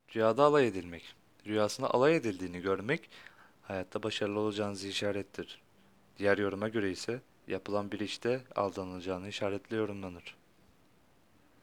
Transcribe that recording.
Rüyada alay edilmek. Rüyasında alay edildiğini görmek, hayatta başarılı olacağınızı işarettir. Diğer yoruma göre ise yapılan bir işte aldanılacağını işaretli yorumlanır.